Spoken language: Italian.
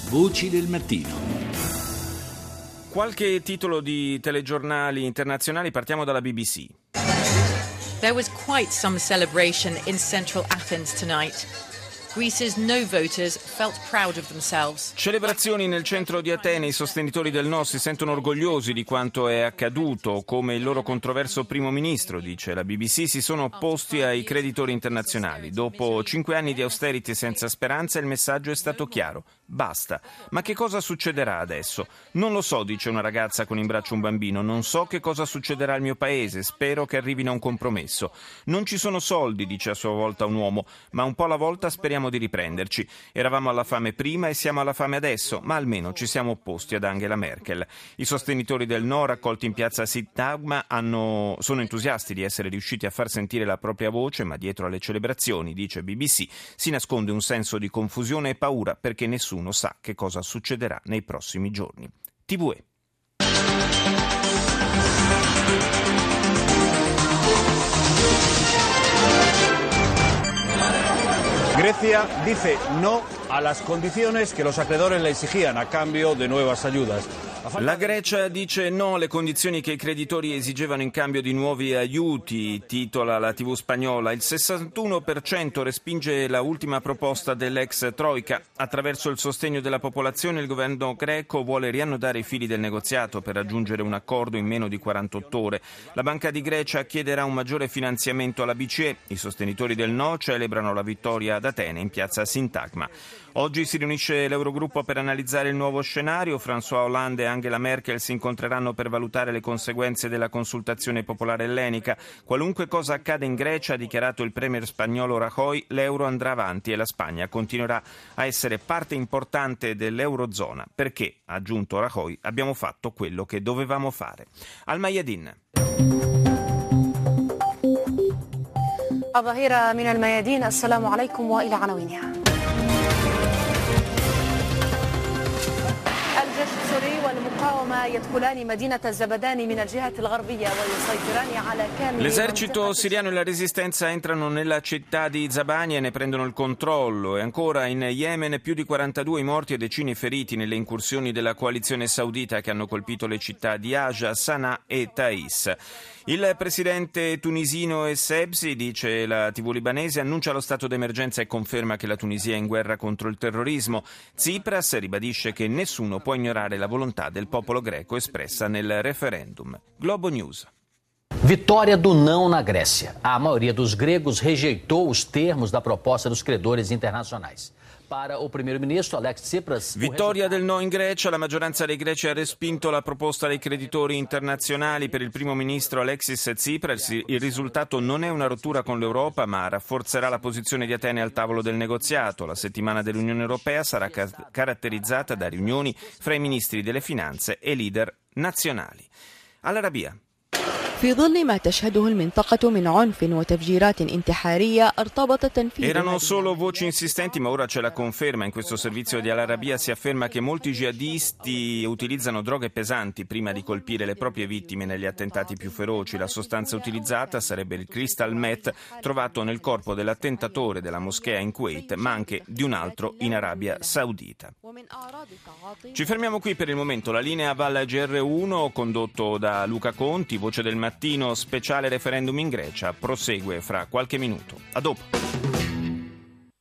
Voci del mattino. Qualche titolo di telegiornali internazionali, partiamo dalla BBC. There was quite some celebration in central Athens tonight. Greece's no voters felt proud of themselves. Celebrazioni nel centro di Atene, i sostenitori del no si sentono orgogliosi di quanto è accaduto, come il loro controverso primo ministro, dice la BBC, si sono opposti ai creditori internazionali. Dopo 5 anni di austerity senza speranza, il messaggio è stato chiaro: basta. Ma che cosa succederà adesso? Non lo so, dice una ragazza con in braccio un bambino, non so che cosa succederà al mio paese, spero che arrivino a un compromesso. Non ci sono soldi, dice a sua volta un uomo, ma un po' alla volta speriamo di riprenderci. Eravamo alla fame prima e siamo alla fame adesso, ma almeno ci siamo opposti ad Angela Merkel. I sostenitori del no, raccolti in piazza Sintagma, sono entusiasti di essere riusciti a far sentire la propria voce, ma dietro alle celebrazioni, dice BBC, si nasconde un senso di confusione e paura perché nessuno sa che cosa succederà nei prossimi giorni. TVE. Grecia dice no a las condiciones que los acreedores le exigían a cambio de nuevas ayudas. La Grecia dice no alle condizioni che i creditori esigevano in cambio di nuovi aiuti, titola la TV spagnola. Il 61% respinge la ultima proposta dell'ex Troika. Attraverso il sostegno della popolazione il governo greco vuole riannodare i fili del negoziato per raggiungere un accordo in meno di 48 ore. La Banca di Grecia chiederà un maggiore finanziamento alla BCE. I sostenitori del no celebrano la vittoria ad Atene in piazza Sintagma. Oggi si riunisce l'Eurogruppo per analizzare il nuovo scenario. François Hollande e Angela Merkel si incontreranno per valutare le conseguenze della consultazione popolare ellenica. Qualunque cosa accada in Grecia, ha dichiarato il premier spagnolo Rajoy, l'euro andrà avanti e la Spagna continuerà a essere parte importante dell'Eurozona. Perché, ha aggiunto Rajoy, abbiamo fatto quello che dovevamo fare. Al Mayadin. الظهيرة من الميادين. السلام عليكم وإلى عناوينها. الجيش السوري والمقاومة يدخلان مدينة الزبدان من الجهة الغربية ويسيطران على كامل. L'esercito siriano e la resistenza entrano nella città di Zabani e ne prendono il controllo. E ancora in Yemen più di 42 i morti e decine i feriti nelle incursioni della coalizione saudita che hanno colpito le città di Aja, Sana'a e Taiz. Il presidente tunisino Essebsi, dice la TV libanese, annuncia lo stato d'emergenza e conferma che la Tunisia è in guerra contro il terrorismo. Tsipras ribadisce che nessuno può ignorare la volontà del popolo greco espressa nel referendum. Globo News. Vitória do não na Grécia. A maioria dos gregos rejeitou os termos da proposta dos credores internacionais. Para o primeiro-ministro Alex Tsipras. Vittoria del no in Grecia, la maggioranza dei greci ha respinto la proposta dei creditori internazionali. Per il primo ministro Alexis Tsipras il risultato non è una rottura con l'Europa, ma rafforzerà la posizione di Atene al tavolo del negoziato. La settimana dell'Unione Europea sarà caratterizzata da riunioni fra i ministri delle finanze e leader nazionali. All'Arabia. في ظل ما تشهده المنطقة من عنف وتفجيرات انتحارية ارتبط تنفيذ. Erano solo voci insistenti, ma ora c'è la conferma. In questo servizio di Al Arabiya si afferma che molti jihadisti utilizzano droghe pesanti prima di colpire le proprie vittime negli attentati più feroci. La sostanza utilizzata sarebbe il crystal meth trovato nel corpo dell'attentatore della moschea in Kuwait, ma anche di un altro in Arabia Saudita. Ci fermiamo qui per il momento. La linea Val GR1, condotto da Luca Conti, voce del mattino, speciale referendum in Grecia, prosegue fra qualche minuto. A dopo.